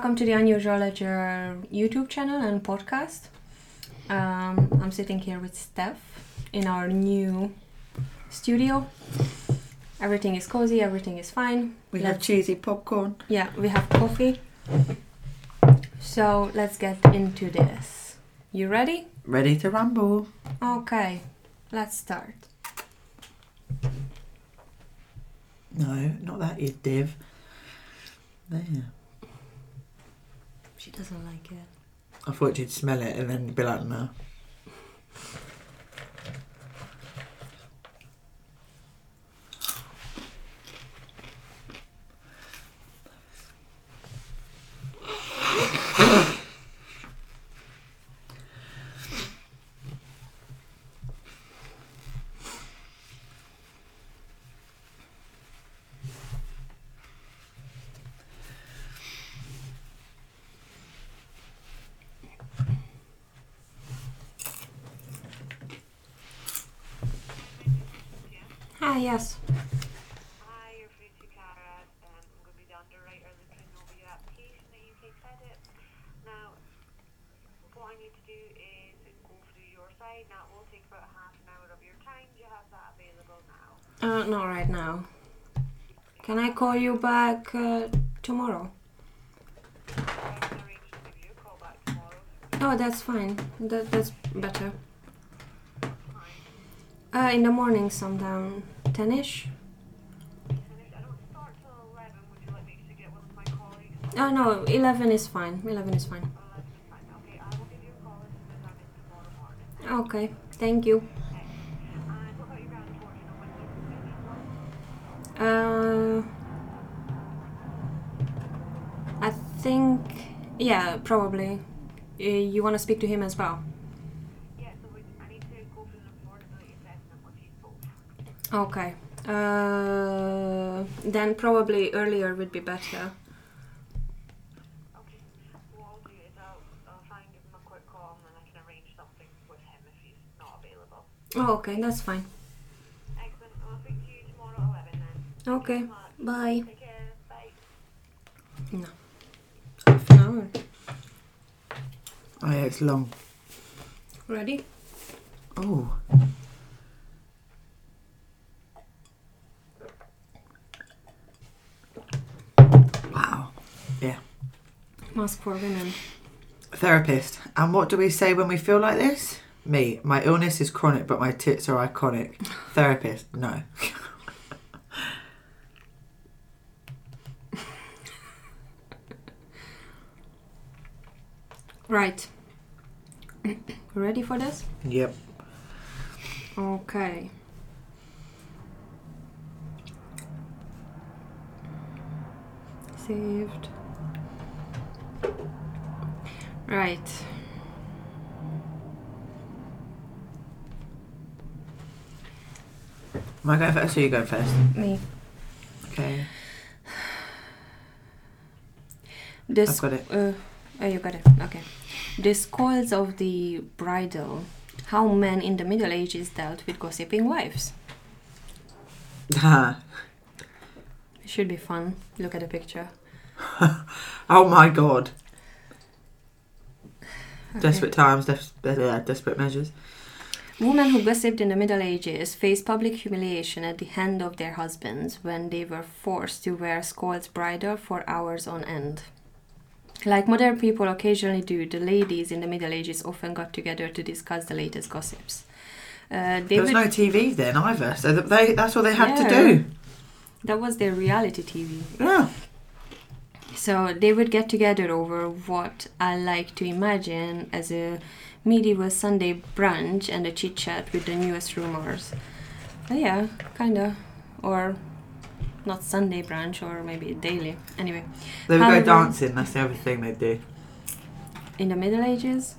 welcome to the Unusual Ledger YouTube channel and podcast. I'm sitting here with Steph in our new studio. Everything is cozy, everything is fine. We have cheesy popcorn. Yeah, we have coffee. So let's get into this. You ready? Ready to rumble. Okay, let's start. No, not that, you div. There. She doesn't like it. I thought you'd smell it and then be like, no. Hi, yes. Hi, you're free to Cara. I'm going to be the underwriter looking over your application at UK Credit. Now, what I need to do is go through your side. Now, it will take about half an hour of your time. Do you have that available now? Not right now. Can I call you back tomorrow? I can arrange to give you a call back tomorrow. Oh, that's fine. That's better. Fine. In the morning sometime, 10ish. I don't start till 11. Would you like me to get one of my colleagues? Oh no, 11 is fine. 11 is fine. 11 is fine. Okay, I will give you a call as soon as I'm in tomorrow morning. Okay, thank you. Okay. And what about your ground fortune? When you I think, yeah, probably. You want to speak to him as well? Yeah, so I need to go through an affordability assessment with you both. Okay. Then probably earlier would be better. Okay. What I'll do is I'll try and give him a quick call and then I can arrange something with him if he's not available. Oh, okay, that's fine. Excellent. I'll speak to you tomorrow at 11 then. Okay, Thank you so much. bye. Take care. Bye. No. Half an hour. Oh yeah, it's long. Ready? Oh. Wow. Yeah. Mask for women. Therapist. And what do we say when we feel like this? Me. My illness is chronic, but my tits are iconic. Therapist. No. Right. Ready for this? Yep. Okay. Saved. Right. Am I going first or you go first? Me. Okay. This, I've got it. Oh, you got it. Okay. The scores of the bridal. How men in the Middle Ages dealt with gossiping wives. Ha. It should be fun. Look at the picture. Oh my god. Okay. Desperate times, desperate measures. Women who gossiped in the Middle Ages faced public humiliation at the hand of their husbands when they were forced to wear Scold's bridle for hours on end. Like modern people occasionally do, the ladies in the Middle Ages often got together to discuss the latest gossips. There was no TV then either, so that's what they had to do. That was their reality TV. Yeah. So they would get together over what I like to imagine as a medieval Sunday brunch and a chit-chat with the newest rumors. Yeah, kinda. Or not Sunday brunch, or maybe daily. Anyway. They would However, go dancing, that's the other thing they'd do. In the Middle Ages?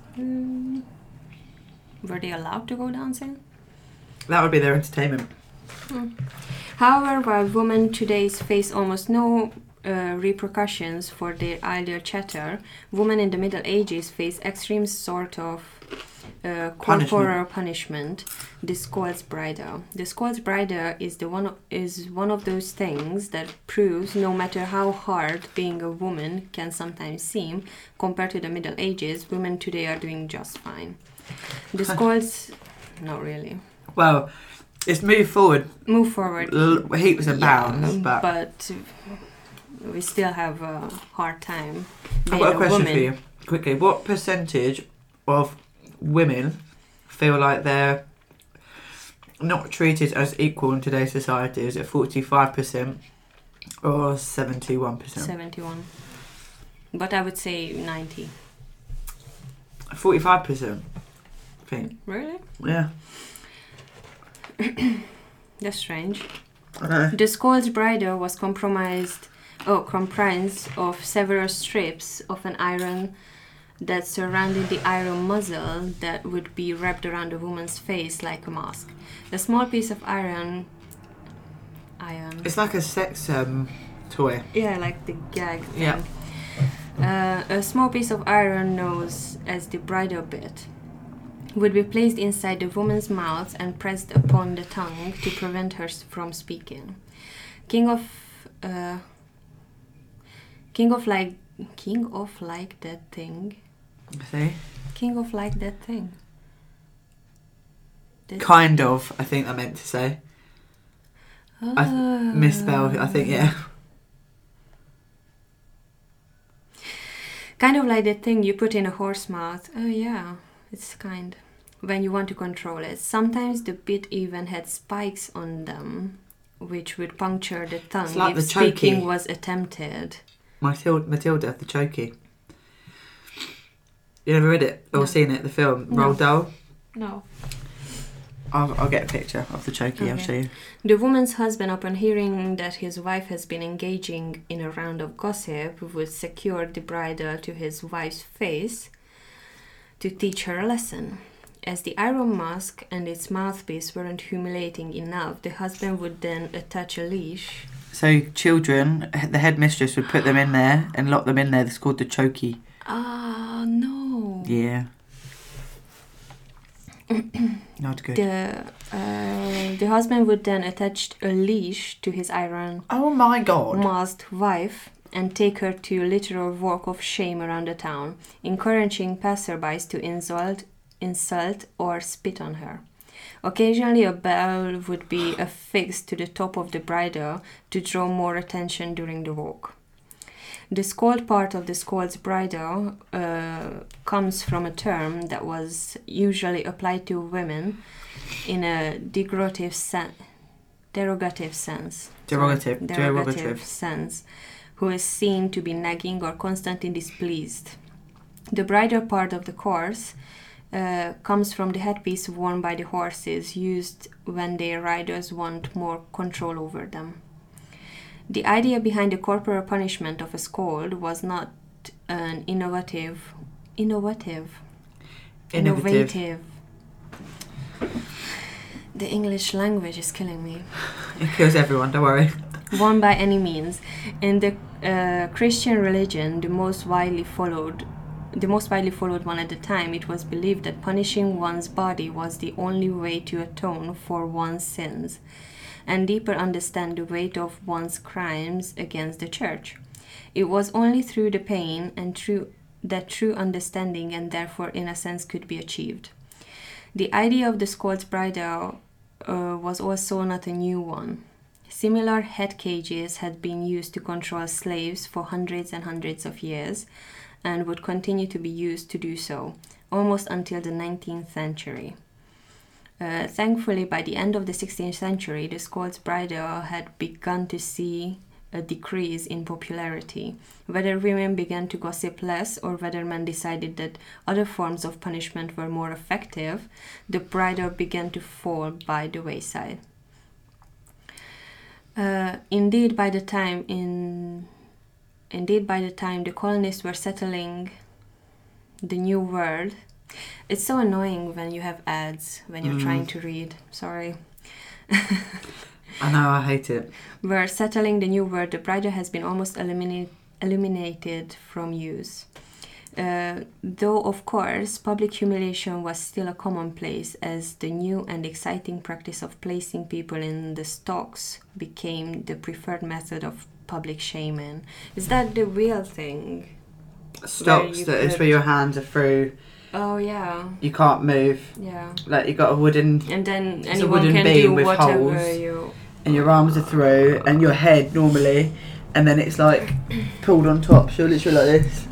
Were they allowed to go dancing? That would be their entertainment. However, while women today face almost no repercussions for their idle chatter, women in the Middle Ages face extreme sort of corporal punishment, the Scold's Bridle. The Scold's Bridle is one of those things that proves no matter how hard being a woman can sometimes seem, compared to the Middle Ages, women today are doing just fine. The Scold's... not really. Well, it's moved forward. Move forward. Heaps and bounds, but we still have a hard time I've being got a a question woman. for you, quickly. What percentage of women feel like they're not treated as equal in today's society? Is it 45% or 71%? 71. But I would say 90. 45%, I think. Really? Yeah. That's strange. I know. The Scold's Bridle was comprised of several strips of an iron that surrounded the iron muzzle that would be wrapped around a woman's face like a mask. A small piece of iron. It's like a sex toy. Yeah, like the gag thing. Yeah. A small piece of iron known as the bridle bit would be placed inside the woman's mouth and pressed upon the tongue to prevent her from speaking. King of like that thing. See? King of like that thing. Kind of, I think I meant to say. I misspelled it, I think, yeah. Kind of like that thing you put in a horse mouth. Oh yeah, it's kind. When you want to control it. Sometimes the bit even had spikes on them, which would puncture the tongue It's like if the chokey. speaking was attempted. Matilda, the chokey. You never read it or No. seen it, the film, No. Roald Dahl? No. I'll get a picture of the chokey, I'll Okay. show you. The woman's husband, upon hearing that his wife has been engaging in a round of gossip, would secure the bridle to his wife's face to teach her a lesson. As the iron mask and its mouthpiece weren't humiliating enough, the husband would then attach a leash. So children, the headmistress would put them in there and lock them in there. It's called the chokey. Ah, no. Yeah. Not good. The husband would then attach a leash to his iron Oh my god. masked wife and take her to a literal walk of shame around the town, encouraging passerbys to insult or spit on her. Occasionally a bell would be affixed to the top of the bridle to draw more attention during the walk. The scold part of the Scold's Bridle comes from a term that was usually applied to women in a derogative sense. Derogative. Sense, who is seen to be nagging or constantly displeased. The bridle part of the course comes from the headpiece worn by the horses, used when their riders want more control over them. The idea behind the corporal punishment of a scold was not an innovative. The English language is killing me. It kills everyone, don't worry. One by any means. In the Christian religion, the most widely followed one at the time, it was believed that punishing one's body was the only way to atone for one's sins and deeper understand the weight of one's crimes against the church. It was only through the pain and that true understanding and therefore innocence could be achieved. The idea of the Scold's Bridle was also not a new one. Similar head cages had been used to control slaves for hundreds and hundreds of years and would continue to be used to do so, almost until the 19th century. Thankfully, by the end of the 16th century, the Scold's Bridle had begun to see a decrease in popularity. Whether women began to gossip less or whether men decided that other forms of punishment were more effective, the bridle began to fall by the wayside. Indeed, by the time the colonists were settling the New World, it's so annoying when you have ads when you're trying to read. Sorry. I know, I hate it. Were settling the New World, the bridle has been almost eliminated from use. Though, of course, public humiliation was still a commonplace as the new and exciting practice of placing people in the stocks became the preferred method of public shaming. Is that the real thing? Stocks, you that is could- where your hands are through. Oh, yeah. You can't move. Yeah. Like, you got a wooden... And then It's a anyone wooden can beam do with whatever holes. you... and your arms are through, and your head normally, and then it's like pulled on top, so literally like this.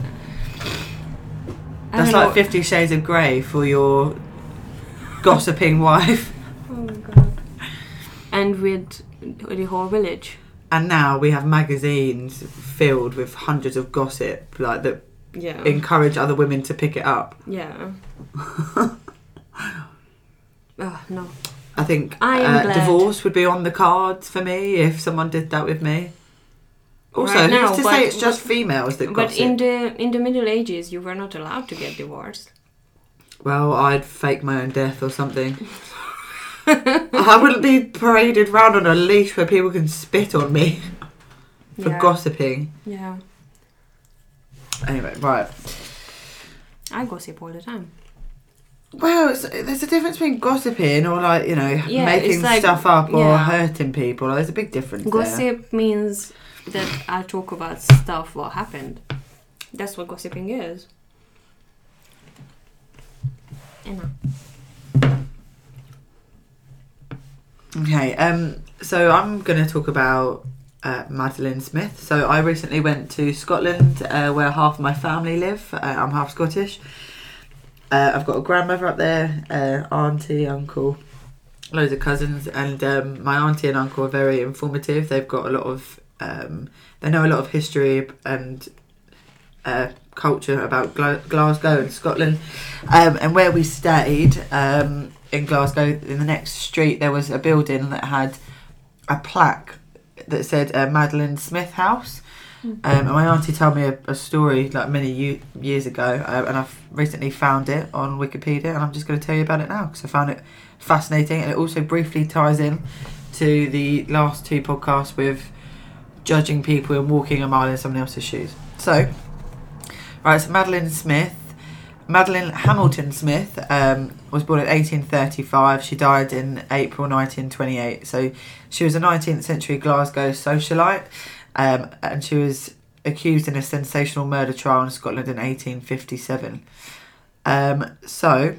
I That's don't like know. 50 Shades of Grey for your gossiping wife. Oh my god. And with the whole village. And now we have magazines filled with hundreds of gossip, like that Yeah. encourage other women to pick it up. Yeah. No. I think I am glad. divorce would be on the cards for me if someone did that with me. Also, Right now, who's to but- say it's just females that But gossip? in the Middle Ages, you were not allowed to get divorced. Well, I'd fake my own death or something. I wouldn't be paraded round on a leash where people can spit on me for Yeah. gossiping. Yeah. Anyway, right. I gossip all the time. Well, there's a difference between gossiping or like, you know, Yeah, making it's like- stuff up or yeah. hurting people. There's a big difference there. Gossip means that I talk about stuff what happened. That's what gossiping is. Emma. Okay, so I'm going to talk about Madeleine Smith. So I recently went to Scotland where half of my family live. I'm half Scottish. I've got a grandmother up there, auntie, uncle, loads of cousins, and my auntie and uncle are very informative. They've got a lot of, they know a lot of history and culture about Glasgow and Scotland. And where we stayed in Glasgow, in the next street, there was a building that had a plaque that said Madeleine Smith House. And my auntie told me a story like many years ago, and I've recently found it on Wikipedia, and I'm just going to tell you about it now because I found it fascinating, and it also briefly ties in to the last two podcasts with judging people and walking a mile in someone else's shoes. So, right, so Madeleine Hamilton Smith was born in 1835. She died in April 1928. So she was a 19th century Glasgow socialite. And she was accused in a sensational murder trial in Scotland in 1857. So,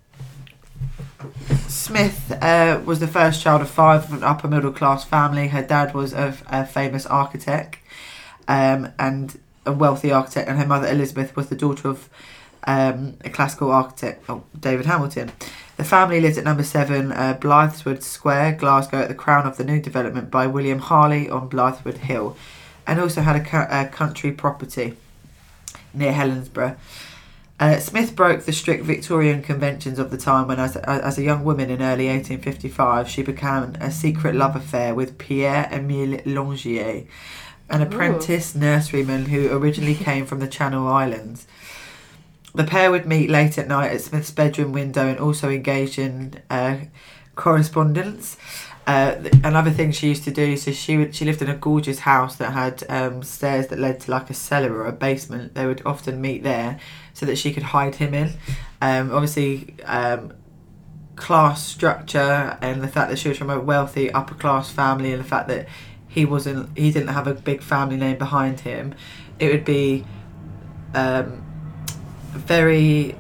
Smith was the first child of five of an upper middle class family. Her dad was a famous architect and a wealthy architect, and her mother Elizabeth was the daughter of a classical architect, David Hamilton. The family lived at number 7 Blythswood Square, Glasgow, at the crown of the new development by William Harley on Blythwood Hill, and also had a country property near Helensburgh. Smith broke the strict Victorian conventions of the time when, as a young woman in early 1855, she began a secret love affair with Pierre-Emile Longier, an apprentice nurseryman who originally came from the Channel Islands. The pair would meet late at night at Smith's bedroom window and also engage in correspondence. Another thing she used to do, so she lived in a gorgeous house that had stairs that led to like a cellar or a basement. They would often meet there so that she could hide him in. Obviously, class structure and the fact that she was from a wealthy upper class family, and the fact that he didn't have a big family name behind him, it would be very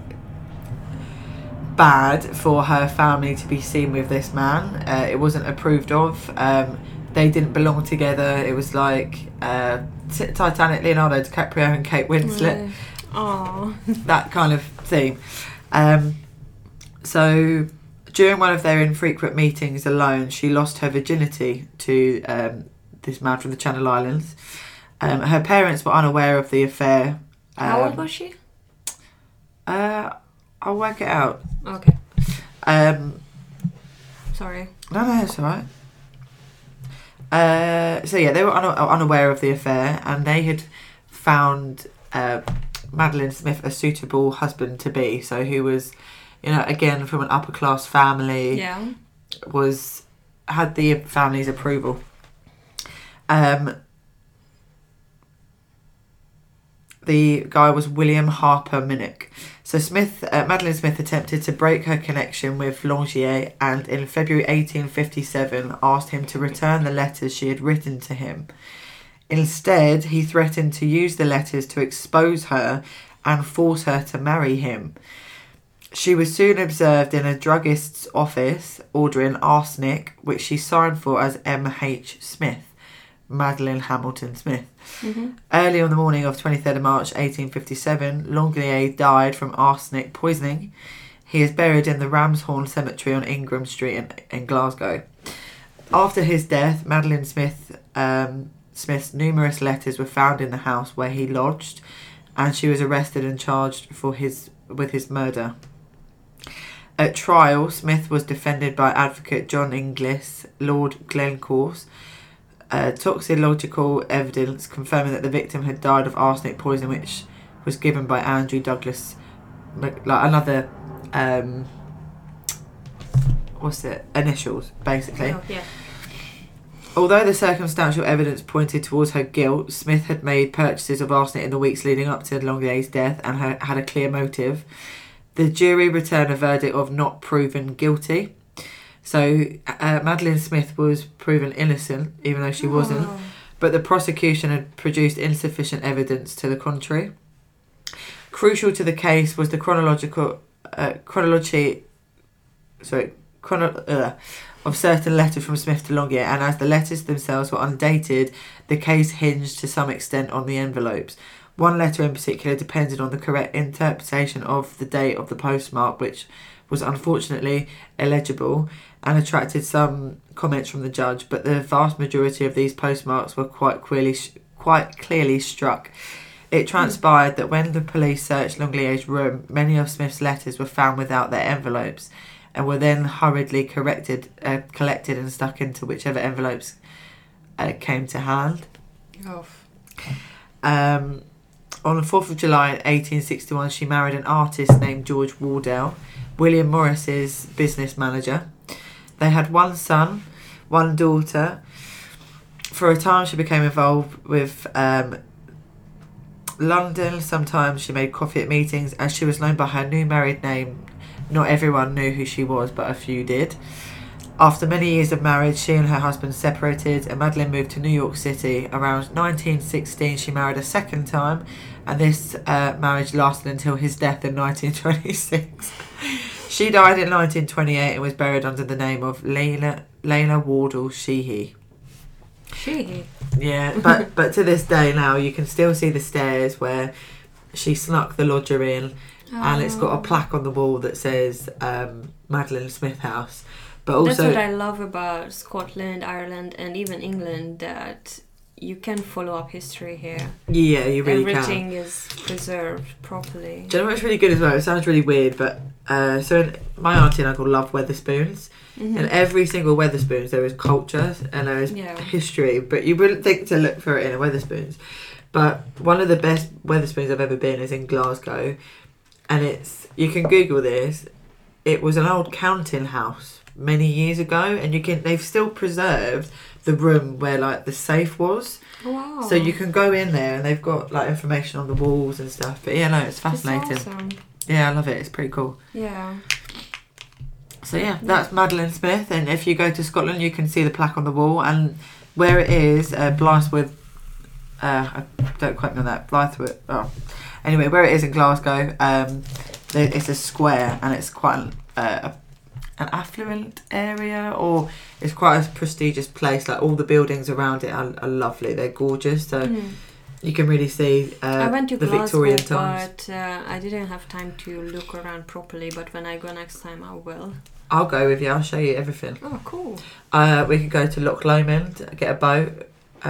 bad for her family to be seen with this man. It wasn't approved of. They didn't belong together. It was like Titanic, Leonardo DiCaprio and Kate Winslet. Aww. That kind of thing. So during one of their infrequent meetings alone, she lost her virginity to this man from the Channel Islands. Her parents were unaware of the affair. How old was she? I'll work it out. Okay. Sorry. No, it's alright. So yeah, they were unaware of the affair, and they had found Madeleine Smith a suitable husband to be. So who was, again from an upper class family. Yeah. Had the family's approval. the guy was William Harper Minnick. So Madeleine Smith attempted to break her connection with Longier, and in February 1857 asked him to return the letters she had written to him. Instead, he threatened to use the letters to expose her and force her to marry him. She was soon observed in a druggist's office ordering arsenic, which she signed for as M.H. Smith, Madeleine Hamilton Smith. Early on the morning of 23rd of March 1857, Longlier died from arsenic poisoning. He is buried in the Ramshorn Cemetery on Ingram Street in Glasgow. After his death, Madeleine Smith's numerous letters were found in the house where he lodged, and she was arrested and charged with his murder. At trial, Smith was defended by advocate John Inglis, Lord Glencorse. Toxicological evidence confirming that the victim had died of arsenic poisoning, which was given by Andrew Douglas, another initials, basically. Oh, yeah. Although the circumstantial evidence pointed towards her guilt, Smith had made purchases of arsenic in the weeks leading up to Longlier's death and had a clear motive. The jury returned a verdict of not proven guilty. So Madeleine Smith was proven innocent, even though she wasn't. But the prosecution had produced insufficient evidence to the contrary. Crucial to the case was the chronology of certain letters from Smith to Longier, and as the letters themselves were undated, the case hinged to some extent on the envelopes. One letter in particular depended on the correct interpretation of the date of the postmark, which was unfortunately illegible and attracted some comments from the judge, but the vast majority of these postmarks were quite clearly struck. It transpired that when the police searched Longlier's room, many of Smith's letters were found without their envelopes and were then hurriedly collected and stuck into whichever envelopes came to hand. On the 4th of July 1861, she married an artist named George Wardell, William Morris's business manager. They had one son, one daughter. For a time, she became involved with London. Sometimes she made coffee at meetings. As she was known by her new married name, not everyone knew who she was, but a few did. After many years of marriage, she and her husband separated, and Madeleine moved to New York City. Around 1916, she married a second time, and this marriage lasted until his death in 1926. She died in 1928 and was buried under the name of Lena Wardell Sheehy. Sheehy? Yeah, but to this day now, you can still see the stairs where she snuck the lodger in, and it's got a plaque on the wall that says Madeleine Smith House. But also, that's what I love about Scotland, Ireland, and even England, that you can follow up history here. Yeah, you really Everything is preserved properly. Do you know what's really good as well? It sounds really weird, but my auntie and uncle love Weatherspoons. And every single Weatherspoons there is culture and there is history, but you wouldn't think to look for it in a Weatherspoons. But one of the best Weatherspoons I've ever been is in Glasgow, and you can Google this. It was an old counting house many years ago, and they've still preserved the room where the safe was. Wow. So you can go in there and they've got information on the walls and stuff. But yeah, no, it's fascinating. That's awesome. Yeah, I love it. It's pretty cool. Yeah. So yeah, that's Madeleine Smith, and if you go to Scotland, you can see the plaque on the wall, and where it is, Blythswood. Don't quote me on that. Blythswood. Oh, anyway, where it is in Glasgow, it's a square, and it's quite an affluent area, or it's quite a prestigious place. All the buildings around it are lovely. They're gorgeous. So you can really see I went to the Glasgow, Victorian times. but I didn't have time to look around properly. But when I go next time, I will. I'll go with you. I'll show you everything. Oh, cool. We could go to Loch Lomond, get a boat.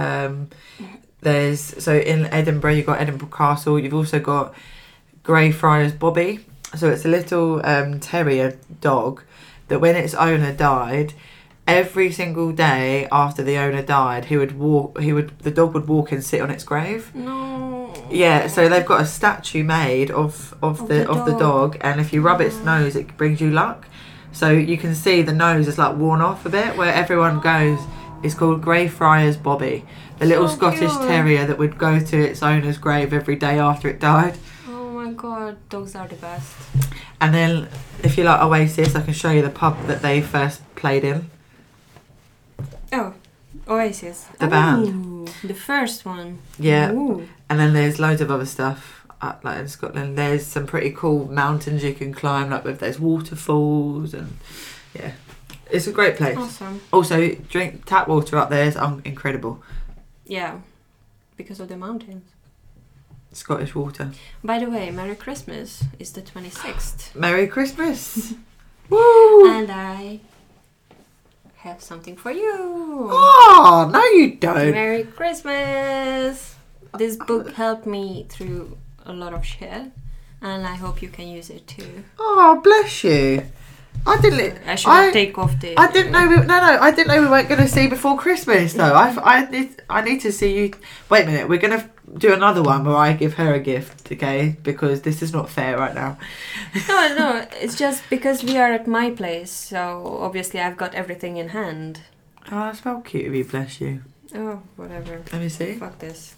So in Edinburgh, you've got Edinburgh Castle. You've also got Greyfriars Bobby. So it's a little terrier dog that when its owner died, every single day after the owner died, the dog would walk and sit on its grave. No. Yeah, so they've got a statue made of the dog, and if you rub its nose, it brings you luck. So you can see the nose is worn off a bit, where everyone goes It's called Greyfriars Bobby, the little So Scottish cute. terrier that would go to its owner's grave every day after it died. Oh my god, dogs are the best. And then, if you like Oasis, I can show you the pub that they first played in. Oh, Oasis. The band. Ooh, the first one. Yeah. Ooh. And then there's loads of other stuff like in Scotland. There's some pretty cool mountains you can climb, like with there's waterfalls and yeah, it's a great place. Awesome. Also, drink tap water up there is incredible. Yeah, because of the mountains. Scottish water. By the way, Merry Christmas is the 26th. Merry Christmas! Woo! And I have something for you. Oh, no you don't. Merry Christmas! This book helped me through a lot of shit, and I hope you can use it too. Oh, bless you. I didn't. I should take off the. I didn't know. I didn't know we weren't going to see before Christmas though. I need to see you. Wait a minute. We're going to do another one where I give her a gift, okay? Because this is not fair right now. No. It's just because we are at my place, so obviously I've got everything in hand. Oh, that's well cute of you. Bless you. Oh, whatever. Let me see. Fuck this.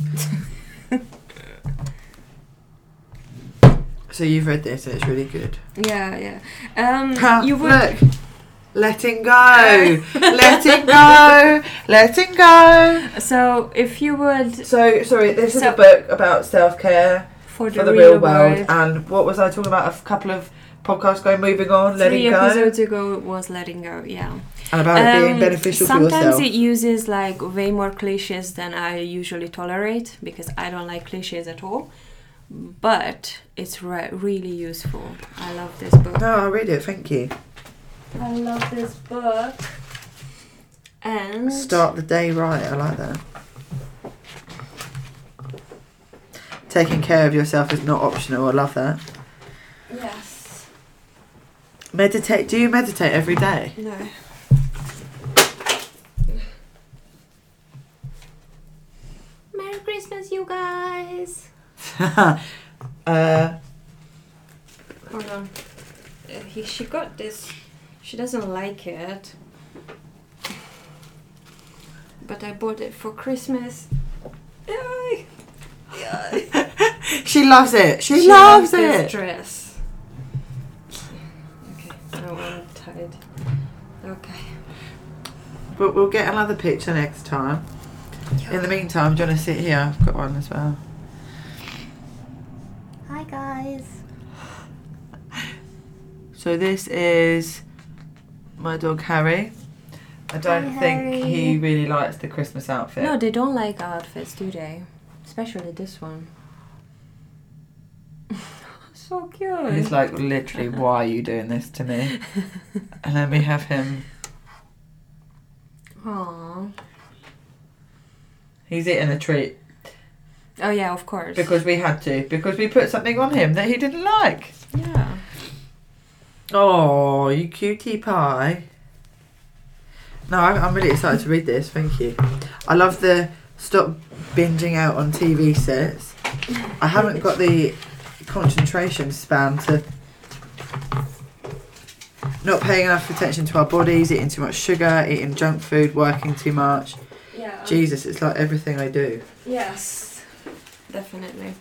So you've read this and it's really good. Yeah. You would. Look. Letting go. Letting go. Letting go. So if you would, So, sorry, this is a book about self-care for for the real world. And what was I talking about a couple of podcasts ago? Moving on, letting 3 go. episodes ago was letting go. Yeah. And about it being beneficial for yourself. Sometimes it uses like way more cliches than I usually tolerate because I don't like cliches at all. But it's really useful. I love this book. No, I'll read it, thank you. I love this book. And Start the day right, I like that. Taking care of yourself is not optional, I love that. yes. Meditate, do you meditate every day? No. Merry Christmas, you guys. Hold on. She got this. She doesn't like it. But I bought it for Christmas. Yay! Yay. She loves it, she loves loves this it! dress. Okay, now I'm tired. Okay. But we'll get another picture next time. In the meantime, do you want to sit here? I've got one as well. Hi guys. So this is my dog Harry. I don't Hi, think Harry. he really likes the Christmas outfit. No, they don't like outfits, do they? Especially this one. So cute. He's like, literally, why are you doing this to me? And then we have him. Aww. He's eating a treat Oh yeah, of course. because we had to. Because we put something on him that he didn't like. Yeah. Oh, you cutie pie. No, I'm really excited to read this. Thank you. I love the stop binging out on TV sets. I haven't got the concentration span to not paying enough attention to our bodies, eating too much sugar, eating junk food, working too much. Yeah. Jesus, it's like everything I do. Yes. Definitely.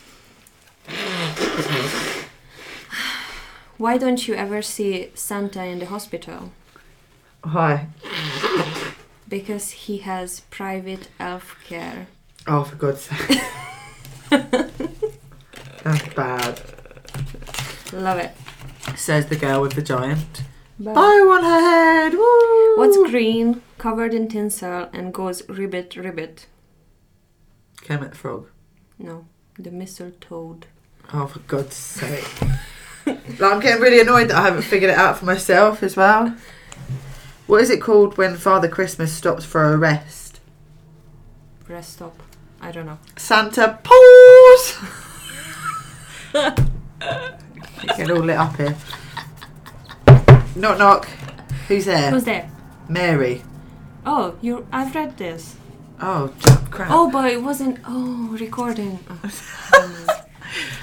Why don't you ever see Santa in the hospital? Why? Because he has private elf care. Oh, for God's sake. That's bad. Love it. Says the girl with the giant. Bye. Bow on her head. Woo! What's green, covered in tinsel, and goes ribbit ribbit? Kermit the Frog. No, the mistletoe. Oh, for God's sake. Like, I'm getting really annoyed that I haven't figured it out for myself as well. What is it called when Father Christmas stops for a rest? Rest stop. I don't know. Santa pause! Getting all lit up here. Knock knock. Who's there? Who's there? Mary. Oh, I've read this. Oh, crap. Oh, but it wasn't. Oh, recording. Oh.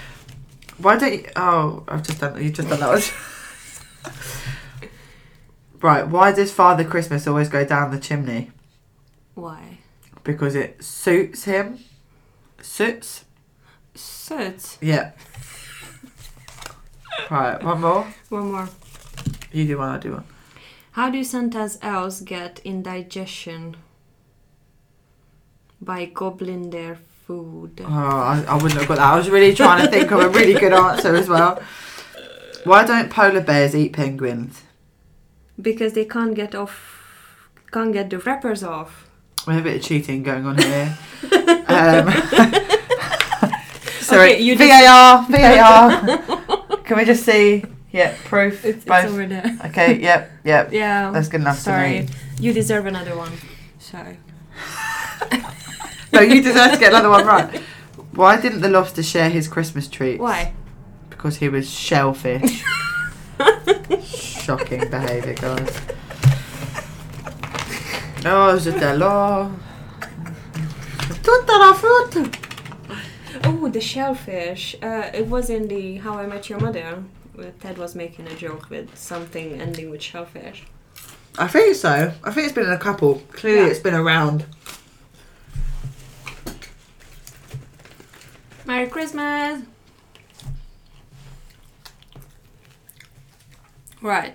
Why don't you... Oh, I've just done... You've just done that one. Right, why does Father Christmas always go down the chimney? Why? Because it suits him. Suits? Suits. Yeah. Right, one more. One more. You do one, I do one. How do Santa's elves get indigestion? By gobbling their food. Oh, I wouldn't have got that. I was really trying to think of a really good answer as well. Why don't polar bears eat penguins? Because they can't get the wrappers off. We have a bit of cheating going on here. Sorry, Okay, you VAR. Can we just see? Yeah, proof. It's both. over there. Okay, yep. Yeah. That's good enough Sorry. to me. You deserve another one. Sorry. No, you deserve to get another one right. Why didn't the lobster share his Christmas treats? Why? Because he was shellfish. Shocking behaviour, guys. Oh, je t'adore. Tutta la frutta. Oh, the shellfish. It was in the How I Met Your Mother. Where Ted was making a joke with something ending with shellfish. I think so. I think it's been in a couple. Clearly, Yeah. it's been around. Merry Christmas! Right.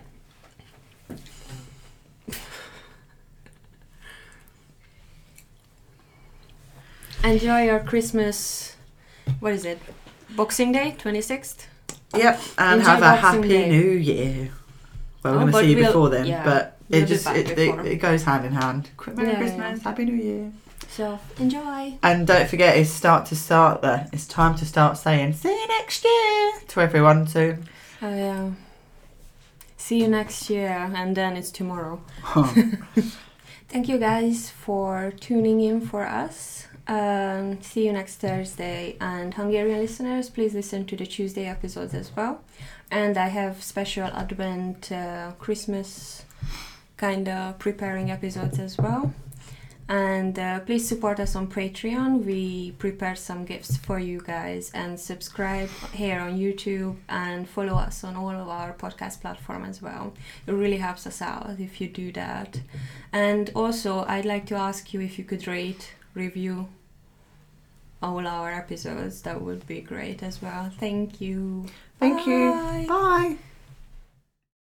Enjoy your Christmas. What is it? Boxing Day, 26th? Yep, and Enjoy have a Boxing happy Day. New Year. Well, we're Oh, going to but see you we'll- before then, yeah, but we'll it be just back before. it goes hand in hand. Merry Yeah, Christmas, yeah. Happy New Year. So, enjoy! And don't forget, it's time to start saying "see you next year" to everyone soon. Oh, yeah. See you next year, and then it's tomorrow. Thank you guys for tuning in for us. See you next Thursday. And Hungarian listeners, please listen to the Tuesday episodes as well. And I have special Advent, Christmas kind of preparing episodes as well. And please support us on Patreon. We prepared some gifts for you guys. And subscribe here on YouTube and follow us on all of our podcast platforms as well. It really helps us out if you do that. And also, I'd like to ask you if you could rate, review all our episodes. That would be great as well. Thank you. Thank Bye. you. Bye.